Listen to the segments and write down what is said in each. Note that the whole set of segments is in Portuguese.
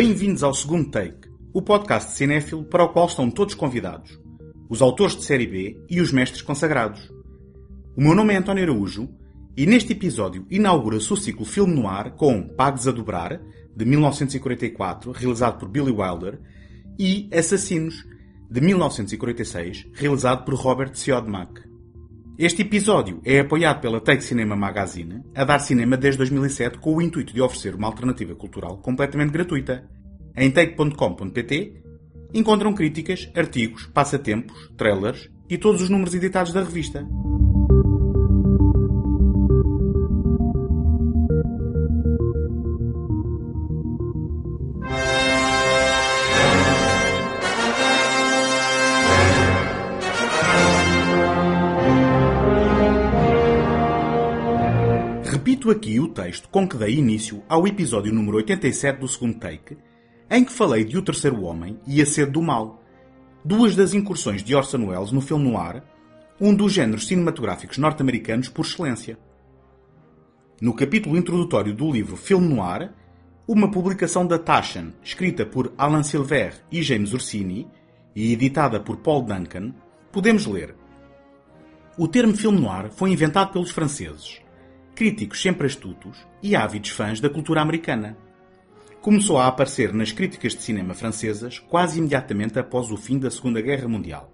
Bem-vindos ao Segundo Take, o podcast de cinéfilo para o qual estão todos convidados, os autores de série B e os mestres consagrados. O meu nome é António Araújo e neste episódio inaugura-se o ciclo Filme Noir com Pagos a Dobrar, de 1944, realizado por Billy Wilder, e Assassinos, de 1946, realizado por Robert Siodmak. Este episódio é apoiado pela Take Cinema Magazine, a dar cinema desde 2007 com o intuito de oferecer uma alternativa cultural completamente gratuita. Em take.com.pt encontram críticas, artigos, passatempos, trailers e todos os números editados da revista. Repito aqui o texto com que dei início ao episódio número 87 do Segundo Take, em que falei de O Terceiro Homem e A Sede do Mal, duas das incursões de Orson Welles no filme noir, um dos géneros cinematográficos norte-americanos por excelência. No capítulo introdutório do livro Filme Noir, uma publicação da Taschen, escrita por Alan Silver e James Orsini e editada por Paul Duncan, podemos ler: o termo filme noir foi inventado pelos franceses, críticos sempre astutos e ávidos fãs da cultura americana. Começou a aparecer nas críticas de cinema francesas quase imediatamente após o fim da Segunda Guerra Mundial.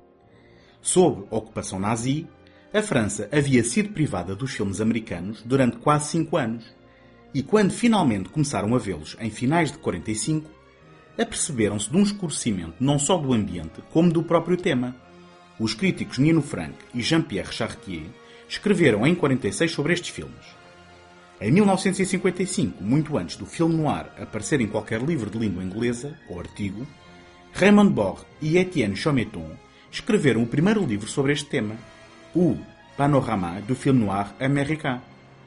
Sob ocupação nazi, a França havia sido privada dos filmes americanos durante quase 5 anos, e quando finalmente começaram a vê-los em finais de 45, aperceberam-se de um escurecimento não só do ambiente, como do próprio tema. Os críticos Nino Frank e Jean-Pierre Chartier escreveram em 46 sobre estes filmes. Em 1955, muito antes do filme noir aparecer em qualquer livro de língua inglesa ou artigo, Raymond Barre e Etienne Chometon escreveram o primeiro livro sobre este tema, o Panorama du film noir américain.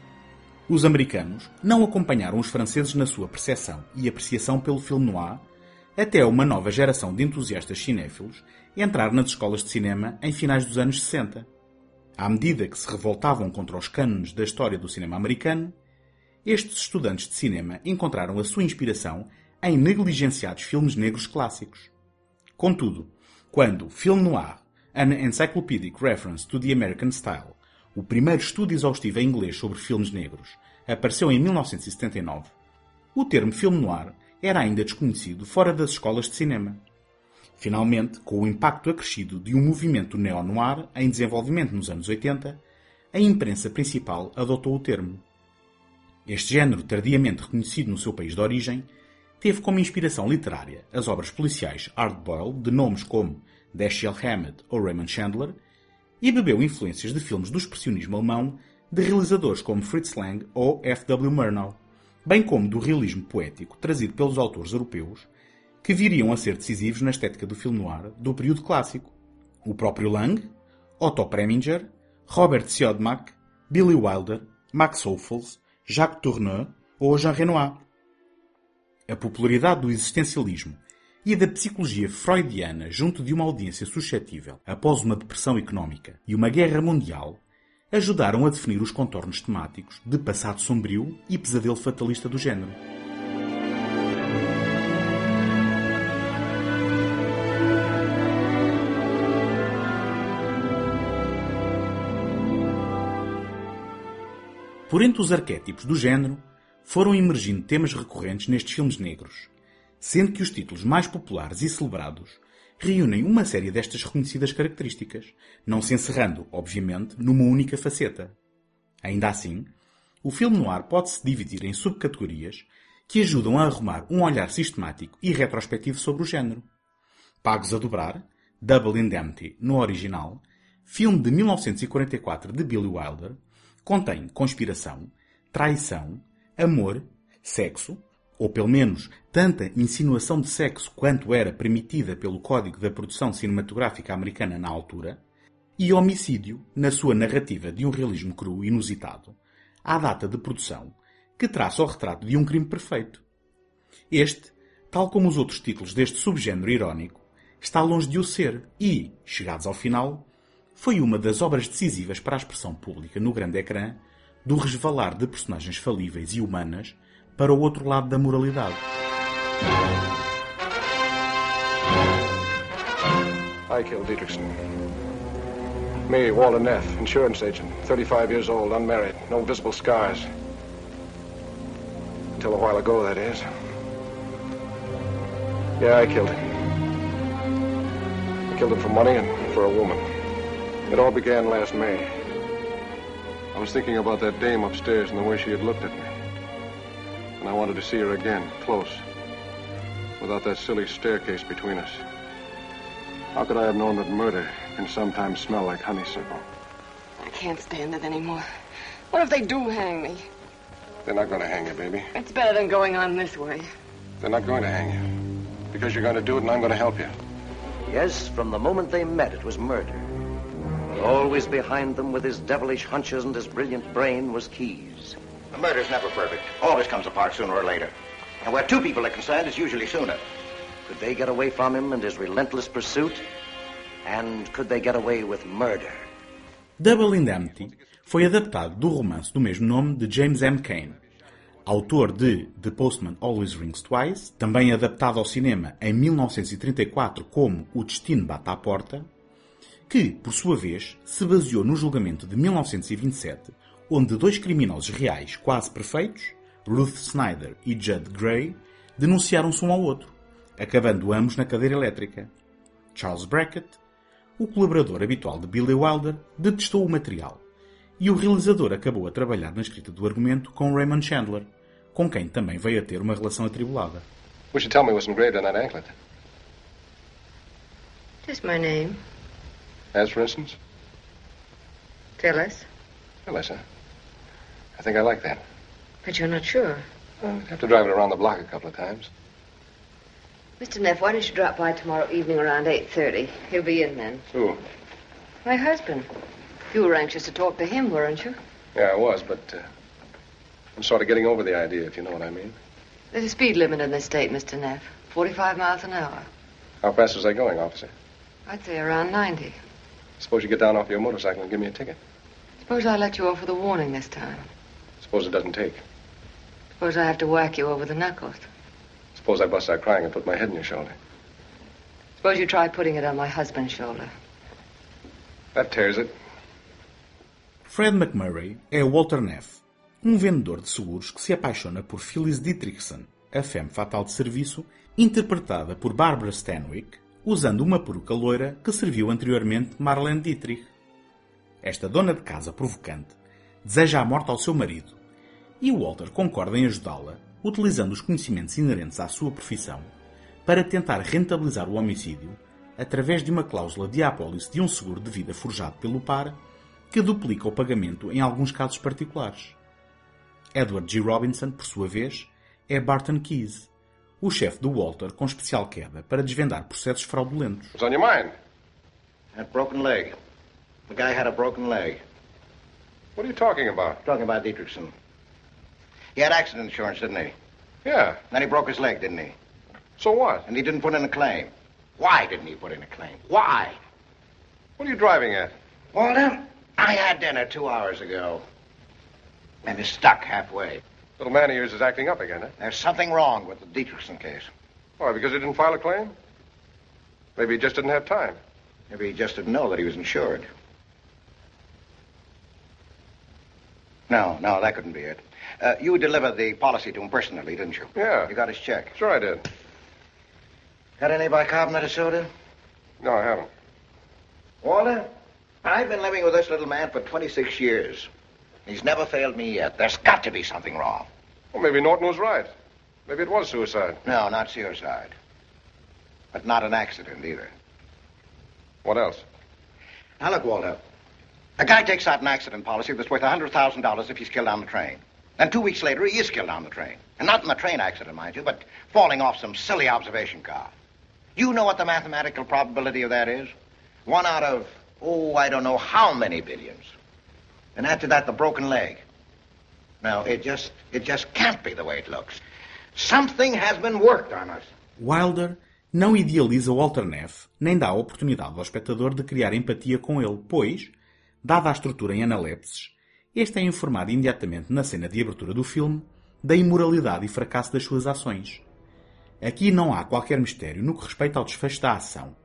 Os americanos não acompanharam os franceses na sua percepção e apreciação pelo filme noir, até uma nova geração de entusiastas cinéfilos entrar nas escolas de cinema em finais dos anos 60. À medida que se revoltavam contra os cânones da história do cinema americano, estes estudantes de cinema encontraram a sua inspiração em negligenciados filmes negros clássicos. Contudo, quando Film Noir, An Encyclopedic Reference to the American Style, o primeiro estudo exaustivo em inglês sobre filmes negros, apareceu em 1979, o termo filme noir era ainda desconhecido fora das escolas de cinema. Finalmente, com o impacto acrescido de um movimento neo-noir em desenvolvimento nos anos 80, a imprensa principal adotou o termo. Este género, tardiamente reconhecido no seu país de origem, teve como inspiração literária as obras policiais Hard Boiled de nomes como Dashiell Hammett ou Raymond Chandler e bebeu influências de filmes do expressionismo alemão de realizadores como Fritz Lang ou F. W. Murnau, bem como do realismo poético trazido pelos autores europeus que viriam a ser decisivos na estética do filme noir do período clássico. O próprio Lang, Otto Preminger, Robert Siodmak, Billy Wilder, Max Ophuls, Jacques Tourneur ou Jean Renoir. A popularidade do existencialismo e da psicologia freudiana junto de uma audiência suscetível após uma depressão económica e uma guerra mundial ajudaram a definir os contornos temáticos de passado sombrio e pesadelo fatalista do género. Por entre os arquétipos do género, foram emergindo temas recorrentes nestes filmes negros, sendo que os títulos mais populares e celebrados reúnem uma série destas reconhecidas características, não se encerrando, obviamente, numa única faceta. Ainda assim, o filme noir pode-se dividir em subcategorias que ajudam a arrumar um olhar sistemático e retrospectivo sobre o género. Pagos a Dobrar, Double Indemnity no original, filme de 1944 de Billy Wilder, contém conspiração, traição, amor, sexo, ou pelo menos tanta insinuação de sexo quanto era permitida pelo Código da Produção Cinematográfica Americana na altura, e homicídio na sua narrativa de um realismo cru e inusitado, à data de produção, que traça o retrato de um crime perfeito. Este, tal como os outros títulos deste subgénero irónico, está longe de o ser e, chegados ao final, foi uma das obras decisivas para a expressão pública no grande ecrã do resvalar de personagens falíveis e humanas para o outro lado da moralidade. I killed Dietrichson. Me, Walter Neff, insurance agent, 35 years old, unmarried, no visible scars. Until a while ago, that is. Yeah, I killed him. I killed him for money and for a woman. It all began last May. I was thinking about that dame upstairs and the way she had looked at me. And I wanted to see her again, close, without that silly staircase between us. How could I have known that murder can sometimes smell like honeysuckle? I can't stand it anymore. What if they do hang me? They're not going to hang you, baby. It's better than going on this way. They're not going to hang you. Because you're going to do it and I'm going to help you. Yes, from the moment they met, it was murder. Always behind them with his devilish hunches and his brilliant brain was Keyes. The murder's never perfect. Always comes apart sooner or later. And where two people are concerned, it's usually sooner. Could they get away from him and his relentless pursuit? And could they get away with murder? Double Indemnity foi adaptado do romance do mesmo nome de James M. Cain, autor de The Postman Always Rings Twice, também adaptado ao cinema em 1934 como O Destino Bate à Porta, que, por sua vez, se baseou no julgamento de 1927, onde dois criminosos reais quase perfeitos, Ruth Snyder e Judd Gray, denunciaram-se um ao outro, acabando ambos na cadeira elétrica. Charles Brackett, o colaborador habitual de Billy Wilder, detestou o material, e o realizador acabou a trabalhar na escrita do argumento com Raymond Chandler, com quem também veio a ter uma relação atribulada. What you tell me was engraved on that anklet? Just my name. As, for instance? Phyllis. Phyllis, huh? I think I like that. But you're not sure. I'd have to drive it around the block a couple of times. Mr. Neff, why don't you drop by tomorrow evening around 8:30? He'll be in then. Who? My husband. You were anxious to talk to him, weren't you? Yeah, I was, but I'm sort of getting over the idea, if you know what I mean. There's a speed limit in this state, Mr. Neff. 45 miles an hour. How fast was I going, officer? I'd say around 90. Suppose you get down off your motorcycle and give me a ticket. Suppose I let you off with a warning this time. Suppose it doesn't take. Suppose I have to whack you over the knuckles. Suppose I bust out crying and put my head in your shoulder. Suppose you try putting it on my husband's shoulder. That tears it. Fred McMurray é Walter Neff, um vendedor de seguros que se apaixona por Phyllis Dietrichson, a femme fatal de serviço, interpretada por Barbara Stanwyck, usando uma peruca loira que serviu anteriormente Marlene Dietrich. Esta dona de casa provocante deseja a morte ao seu marido, e Walter concorda em ajudá-la, utilizando os conhecimentos inerentes à sua profissão, para tentar rentabilizar o homicídio através de uma cláusula de apólice de um seguro de vida forjado pelo par, que duplica o pagamento em alguns casos particulares. Edward G. Robinson, por sua vez, é Barton Keyes, o chefe do Walter com especial queda para desvendar processos fraudulentos. What's on your mind? That broken leg. The guy had a broken leg. What are you talking about? Talking about Dietrichson. He had accident insurance, didn't he? Yeah. Then he broke his leg, didn't he? So what? And he didn't put in a claim. Why didn't he put in a claim? Why? What are you driving at? Walter, I had dinner 2 hours ago. And he's stuck halfway. Little man of yours is acting up again, huh? There's something wrong with the Dietrichson case. Why, because he didn't file a claim? Maybe he just didn't have time. Maybe he just didn't know that he was insured. No, that couldn't be it. You delivered the policy to him personally, didn't you? Yeah. You got his check. Sure I did. Got any bicarbonate of soda? No, I haven't. Walter, I've been living with this little man for 26 years. He's never failed me yet. There's got to be something wrong. Well, maybe Norton was right. Maybe it was suicide. No, not suicide. But not an accident either. What else? Now, look, Walter. A guy takes out an accident policy that's worth $100,000 if he's killed on the train. And 2 weeks later, he is killed on the train. And not in the train accident, mind you, but falling off some silly observation car. You know what the mathematical probability of that is? 1 out of, I don't know how many billions. And after that, the broken leg. Now, it just can't be the way it looks. Something has been worked on us. Wilder não idealiza Walter Neff, nem dá a oportunidade ao espectador de criar empatia com ele, pois, dada a estrutura em analepses, este é informado imediatamente na cena de abertura do filme da imoralidade e fracasso das suas ações. Aqui não há qualquer mistério no que respeita ao desfecho da ação.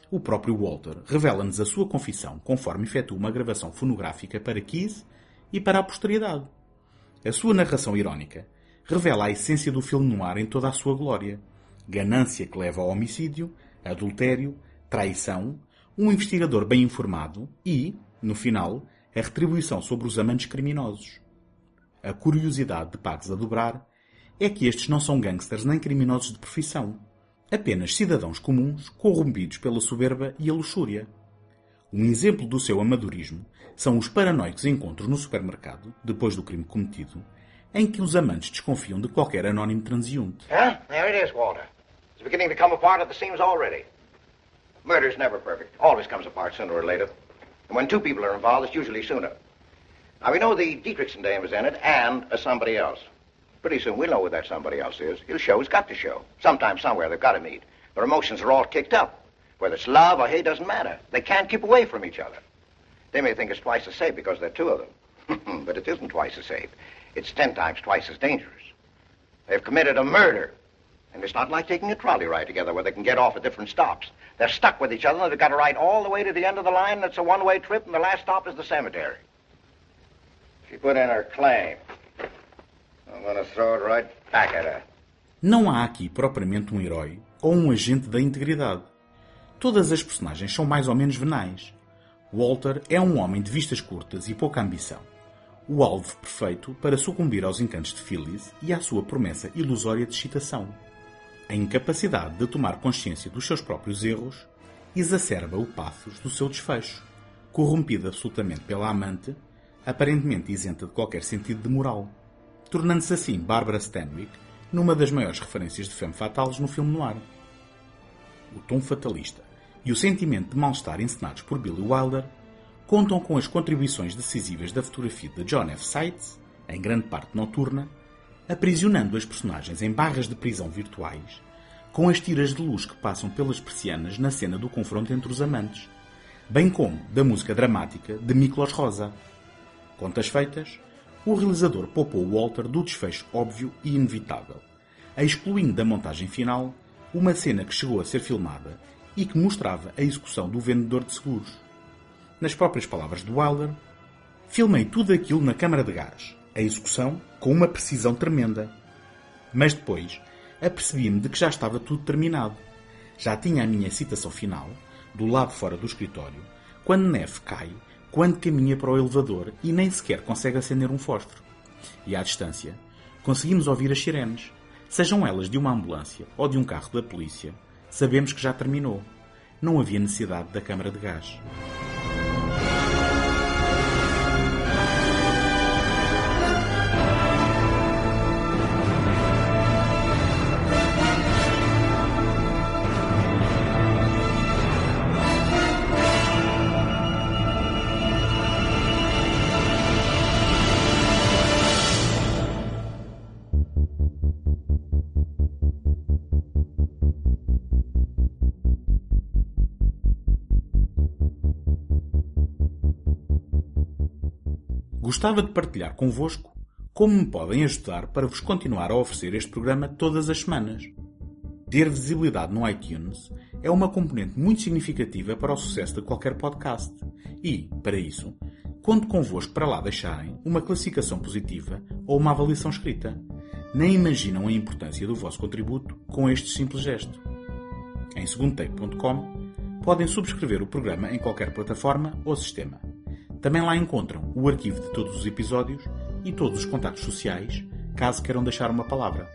O próprio Walter revela-nos a sua confissão conforme efetua uma gravação fonográfica para Keyes e para a posteridade. A sua narração irónica revela a essência do filme noir em toda a sua glória. Ganância que leva ao homicídio, adultério, traição, um investigador bem informado e, no final, a retribuição sobre os amantes criminosos. A curiosidade de Pags a Dobrar é que estes não são gangsters nem criminosos de profissão. Apenas cidadãos comuns corrompidos pela soberba e a luxúria. Um exemplo do seu amadorismo são os paranoicos encontros no supermercado, depois do crime cometido, em que os amantes desconfiam de qualquer anónimo transeunte. Huh? There it is, Walter. It's beginning to come apart at the seams already. Murder's never perfect. Always comes apart sooner or later. And when two people are involved, it's usually sooner. Now, we know the Dietrichson dame is in it and a somebody else. Pretty soon we'll know who that somebody else is. He'll show he's got to show. Sometime, somewhere, they've got to meet. Their emotions are all kicked up. Whether it's love or hate doesn't matter. They can't keep away from each other. They may think it's twice as safe because there are two of them. But it isn't twice as safe. It's 10 times twice as dangerous. They've committed a murder. And it's not like taking a trolley ride together where they can get off at different stops. They're stuck with each other and they've got to ride all the way to the end of the line, and it's a one-way trip, and the last stop is the cemetery. She put in her claim. I'm going to throw it right back at her. Não há aqui propriamente um herói ou um agente da integridade. Todas as personagens são mais ou menos venais. Walter é um homem de vistas curtas e pouca ambição. O alvo perfeito para sucumbir aos encantos de Phyllis e à sua promessa ilusória de excitação. A incapacidade de tomar consciência dos seus próprios erros exacerba o pathos do seu desfecho, corrompido absolutamente pela amante, aparentemente isenta de qualquer sentido de moral, tornando-se assim Barbara Stanwyck numa das maiores referências de femme fatales no filme noir. O tom fatalista e o sentimento de mal-estar encenados por Billy Wilder contam com as contribuições decisivas da fotografia de John F. Seitz, em grande parte noturna, aprisionando as personagens em barras de prisão virtuais, com as tiras de luz que passam pelas persianas na cena do confronto entre os amantes, bem como da música dramática de Miklos Rosa. Contas feitas, o realizador poupou Walter do desfecho óbvio e inevitável, excluindo da montagem final uma cena que chegou a ser filmada e que mostrava a execução do vendedor de seguros. Nas próprias palavras de Wilder, filmei tudo aquilo na câmara de gás, a execução com uma precisão tremenda. Mas depois, apercebi-me de que já estava tudo terminado. Já tinha a minha citação final, do lado fora do escritório, quando Neff cai, quando caminha para o elevador e nem sequer consegue acender um fósforo. E à distância, conseguimos ouvir as sirenes, sejam elas de uma ambulância ou de um carro da polícia. Sabemos que já terminou. Não havia necessidade da câmara de gás. Gostava de partilhar convosco como me podem ajudar para vos continuar a oferecer este programa todas as semanas. Ter visibilidade no iTunes é uma componente muito significativa para o sucesso de qualquer podcast e, para isso, conto convosco para lá deixarem uma classificação positiva ou uma avaliação escrita. Nem imaginam a importância do vosso contributo com este simples gesto. Em segundotake.com podem subscrever o programa em qualquer plataforma ou sistema. Também lá encontram o arquivo de todos os episódios e todos os contactos sociais, caso queiram deixar uma palavra.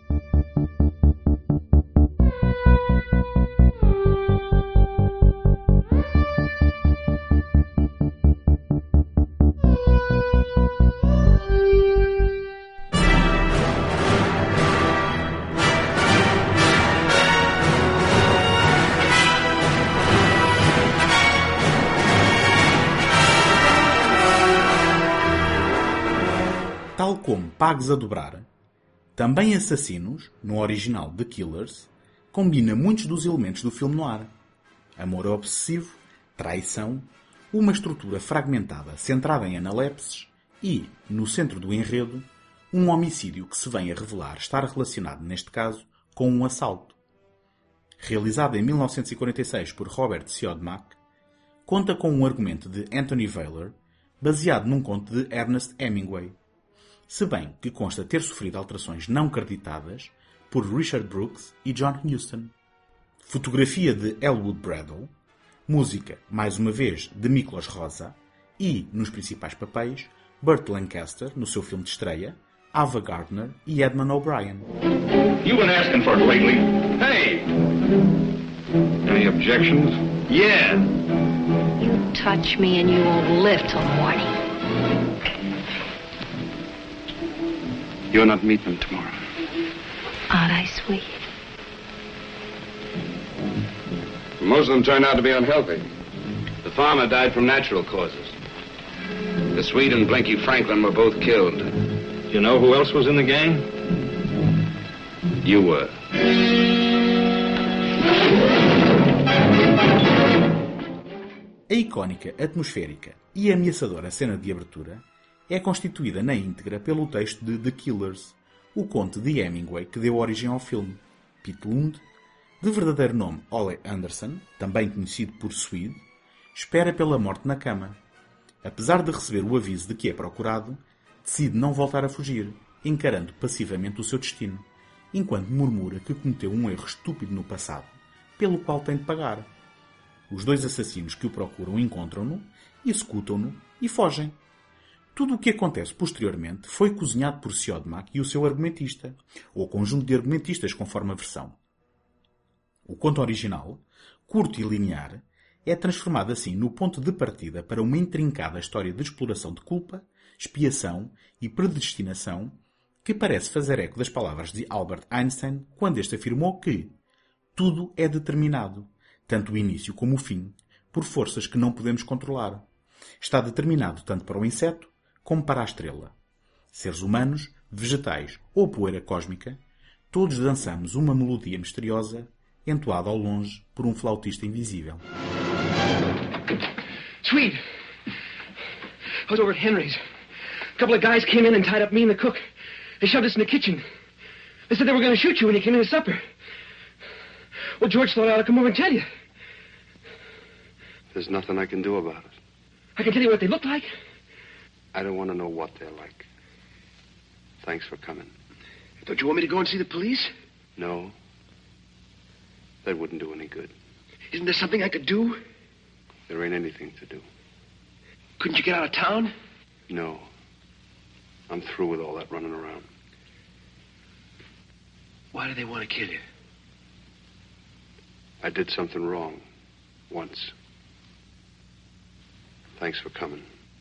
Tal como Pagos a Dobrar, também Assassinos, no original The Killers, combina muitos dos elementos do filme noir. Amor obsessivo, traição, uma estrutura fragmentada centrada em analepses e, no centro do enredo, um homicídio que se vem a revelar estar relacionado, neste caso, com um assalto. realizada em 1946 por Robert Siodmak, conta com um argumento de Anthony Whaler, baseado num conto de Ernest Hemingway, se bem que consta ter sofrido alterações não creditadas por Richard Brooks e John Huston. Fotografia de Elwood Bradle, música, mais uma vez, de Miklos Rozsa e, nos principais papéis, Burt Lancaster, no seu filme de estreia, Ava Gardner e Edmund O'Brien. You've been asking for it lately. Hey! Any objections? Yeah. You touch me and you won't live till morning. You're not meeting them tomorrow. Aren't I sweet? Most of them turned out to be unhealthy. The farmer died from natural causes. The Swede and Blinky Franklin were both killed. You know who else was in the gang? You were. A icónica, atmosférica e ameaçadora cena de abertura é constituída na íntegra pelo texto de The Killers, o conto de Hemingway que deu origem ao filme. Pete Lund, de verdadeiro nome Ole Anderson, também conhecido por Swede, espera pela morte na cama. Apesar de receber o aviso de que é procurado, decide não voltar a fugir, encarando passivamente o seu destino, enquanto murmura que cometeu um erro estúpido no passado, pelo qual tem de pagar. Os dois assassinos que o procuram encontram-no, executam-no e fogem. Tudo o que acontece posteriormente foi cozinhado por Siodmak e o seu argumentista, ou conjunto de argumentistas conforme a versão. O conto original, curto e linear, é transformado assim no ponto de partida para uma intrincada história de exploração de culpa, expiação e predestinação que parece fazer eco das palavras de Albert Einstein quando este afirmou que tudo é determinado, tanto o início como o fim, por forças que não podemos controlar. Está determinado tanto para o inseto como para a estrela. Seres humanos, vegetais ou poeira cósmica, todos dançamos uma melodia misteriosa entoada ao longe por um flautista invisível. Swede! I was over at Henry's. A couple of guys came in and tied up me and the cook. They shoved us in the kitchen. They said they were going to shoot you when you came in to supper. Well, George thought I ought to come over and tell you. There's nothing I can do about it. I can tell you what they look like. I don't want to know what they're like. Thanks for coming. Don't you want me to go and see the police? No. That wouldn't do any good. Isn't there something I could do? There ain't anything to do. Couldn't you get out of town? No. I'm through with all that running around. Why do they want to kill you? I did something wrong. Once. Thanks for coming.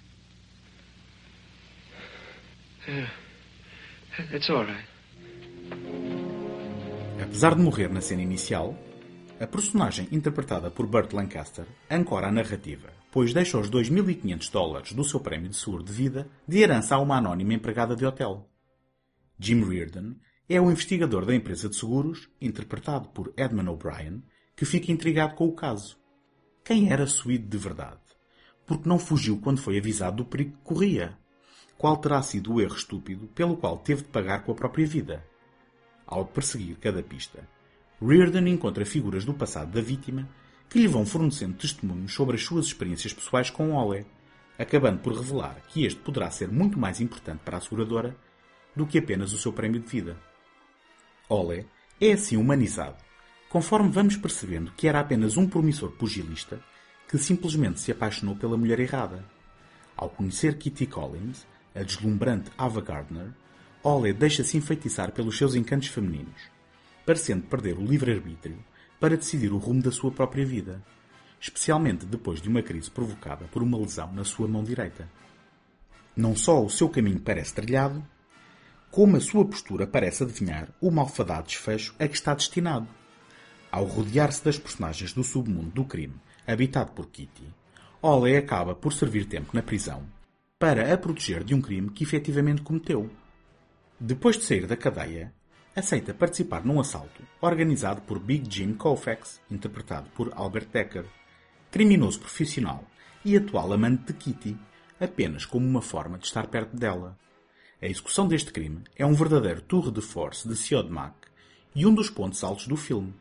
Yeah. That's all right. Apesar de morrer na cena inicial, a personagem interpretada por Burt Lancaster ancora a narrativa, pois deixa os $2.500 do seu prémio de seguro de vida de herança a uma anónima empregada de hotel. Jim Reardon é o investigador da empresa de seguros, interpretado por Edmund O'Brien, que fica intrigado com o caso. Quem era Swede de verdade? Porque não fugiu quando foi avisado do perigo que corria? Qual terá sido o erro estúpido pelo qual teve de pagar com a própria vida? Ao perseguir cada pista, Reardon encontra figuras do passado da vítima que lhe vão fornecendo testemunhos sobre as suas experiências pessoais com Ole, acabando por revelar que este poderá ser muito mais importante para a seguradora do que apenas o seu prémio de vida. Ole é assim humanizado, conforme vamos percebendo que era apenas um promissor pugilista que simplesmente se apaixonou pela mulher errada. Ao conhecer Kitty Collins, a deslumbrante Ava Gardner, Ole deixa-se enfeitiçar pelos seus encantos femininos, parecendo perder o livre-arbítrio para decidir o rumo da sua própria vida, especialmente depois de uma crise provocada por uma lesão na sua mão direita. Não só o seu caminho parece trilhado, como a sua postura parece adivinhar o malfadado desfecho a que está destinado. Ao rodear-se das personagens do submundo do crime habitado por Kitty, Ole acaba por servir tempo na prisão para a proteger de um crime que efetivamente cometeu. Depois de sair da cadeia, aceita participar num assalto organizado por Big Jim Koufax, interpretado por Albert Decker, criminoso profissional e atual amante de Kitty, apenas como uma forma de estar perto dela. A execução deste crime é um verdadeiro tour de force de Siodmak e um dos pontos altos do filme,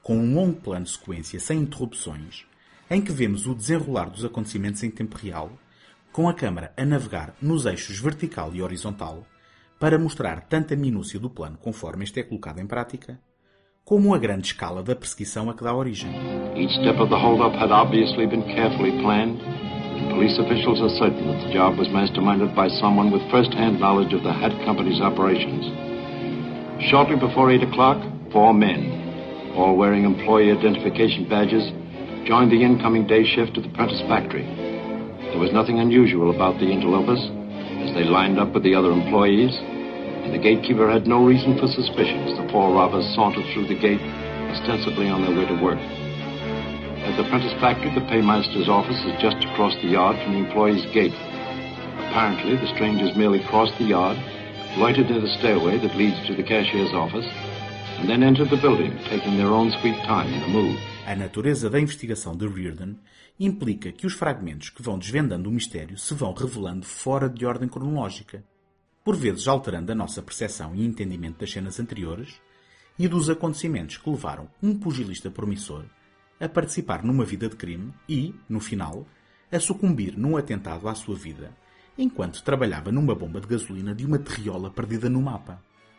com um longo plano de sequência sem interrupções, em que vemos o desenrolar dos acontecimentos em tempo real, com a câmara a navegar nos eixos vertical e horizontal, para mostrar tanto a minúcia do plano conforme este é colocado em prática, como a grande escala da perseguição a que dá origem. Each step of the hold-up had obviously been carefully planned, and police officials are certain that the job was masterminded by someone with first-hand knowledge of the Hat Company's operations. Shortly before 8 o'clock, 4 men, all wearing employee identification badges, joined the incoming day shift at the Prentice factory. There was nothing unusual about the interlopers, as they lined up with the other employees, and the gatekeeper had no reason for suspicion as the 4 robbers sauntered through the gate, ostensibly on their way to work. At the Prentice factory, the paymaster's office is just across the yard from the employee's gate. Apparently, the strangers merely crossed the yard, loitered near the stairway that leads to the cashier's office, and then entered the building, taking their own sweet time in the move. A natureza da investigação de Reardon implica que os fragmentos que vão desvendando o mistério se vão revelando fora de ordem cronológica, por vezes alterando a nossa percepção e entendimento das cenas anteriores e dos acontecimentos que levaram um pugilista promissor a participar numa vida de crime e, no final, a sucumbir num atentado à sua vida, enquanto trabalhava numa bomba de gasolina de uma terriola perdida no mapa.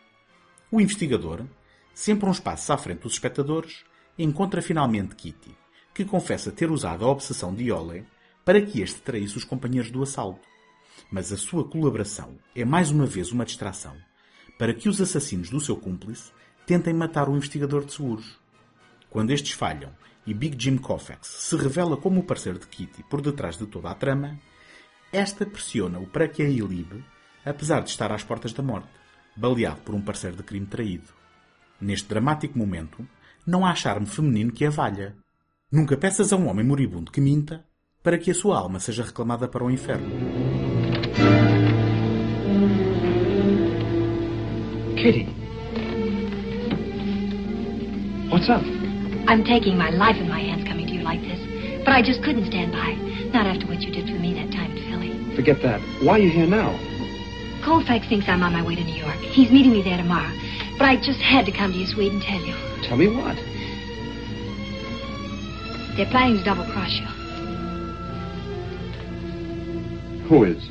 O investigador, sempre uns passos à frente dos espectadores, encontra finalmente Kitty, que confessa ter usado a obsessão de Ole para que este traísse os companheiros do assalto. Mas a sua colaboração é mais uma vez uma distração para que os assassinos do seu cúmplice tentem matar o investigador de seguros. Quando estes falham e Big Jim Koufax se revela como o parceiro de Kitty por detrás de toda a trama, esta pressiona-o para que a ilibe, apesar de estar às portas da morte, baleado por um parceiro de crime traído. Neste dramático momento, não há charme feminino que a valha. Nunca peças a um homem moribundo que minta para que a sua alma seja reclamada para o inferno. Kitty. What's up? I'm taking my life in my hands coming to you like this. But I just couldn't stand by. Not after what you did for me that time in Philly. Forget that. Why are you here now? Colfax thinks I'm on my way to New York. He's meeting me there tomorrow. But I just had to come to you, Swede, and tell you. Tell me what? They're planning to double-cross you. Who is?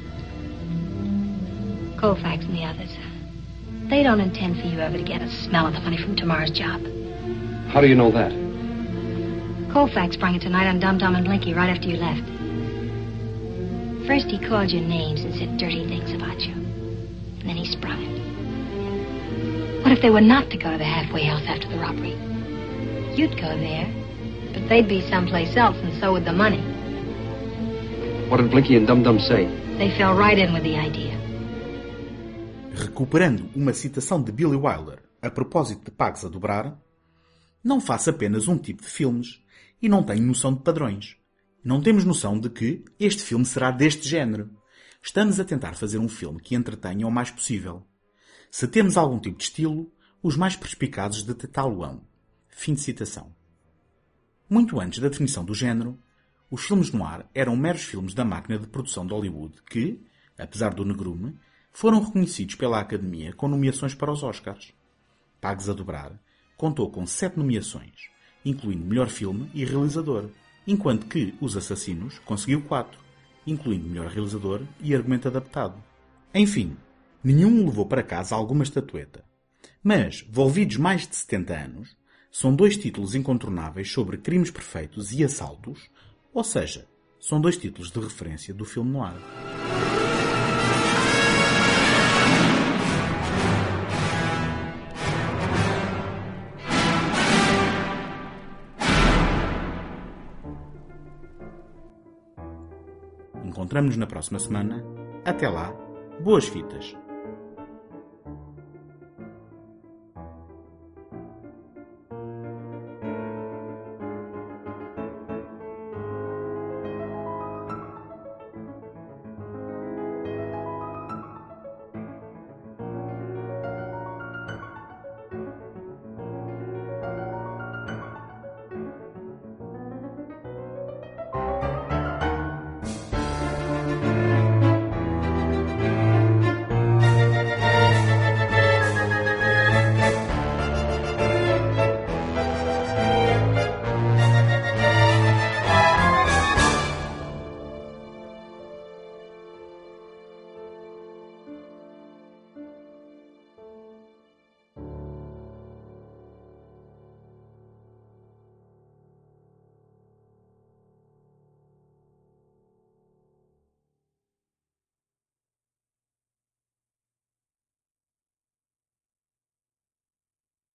Colfax and the others. They don't intend for you ever to get a smell of the money from tomorrow's job. How do you know that? Colfax sprung it tonight on Dum Dum and Blinky right after you left. First he called you names and said dirty things about you. And then he sprung it. What if they were not to go to the halfway house after the robbery? You'd go there, but they'd be someplace else, and so would the money. What did Blinky and Dum Dum say? They fell right in with the idea. Recuperando uma citação de Billy Wilder a propósito de Pags a Dobrar, não faço apenas um tipo de filmes e não tenho noção de padrões. Não temos noção de que este filme será deste género. Estamos a tentar fazer um filme que entretenha o mais possível. Se temos algum tipo de estilo, os mais perspicazes detectá-lo-ão. Fim de citação. Muito antes da definição do género, os filmes noir eram meros filmes da máquina de produção de Hollywood que, apesar do negrume, foram reconhecidos pela Academia com nomeações para os Oscars. Pags a Dobrar contou com 7 nomeações, incluindo melhor filme e realizador, enquanto que Os Assassinos conseguiu 4, incluindo melhor realizador e argumento adaptado. Enfim, nenhum levou para casa alguma estatueta. Mas, volvidos mais de 70 anos, são 2 títulos incontornáveis sobre crimes perfeitos e assaltos, ou seja, são 2 títulos de referência do filme noir. Encontramos-nos na próxima semana. Até lá, boas fitas!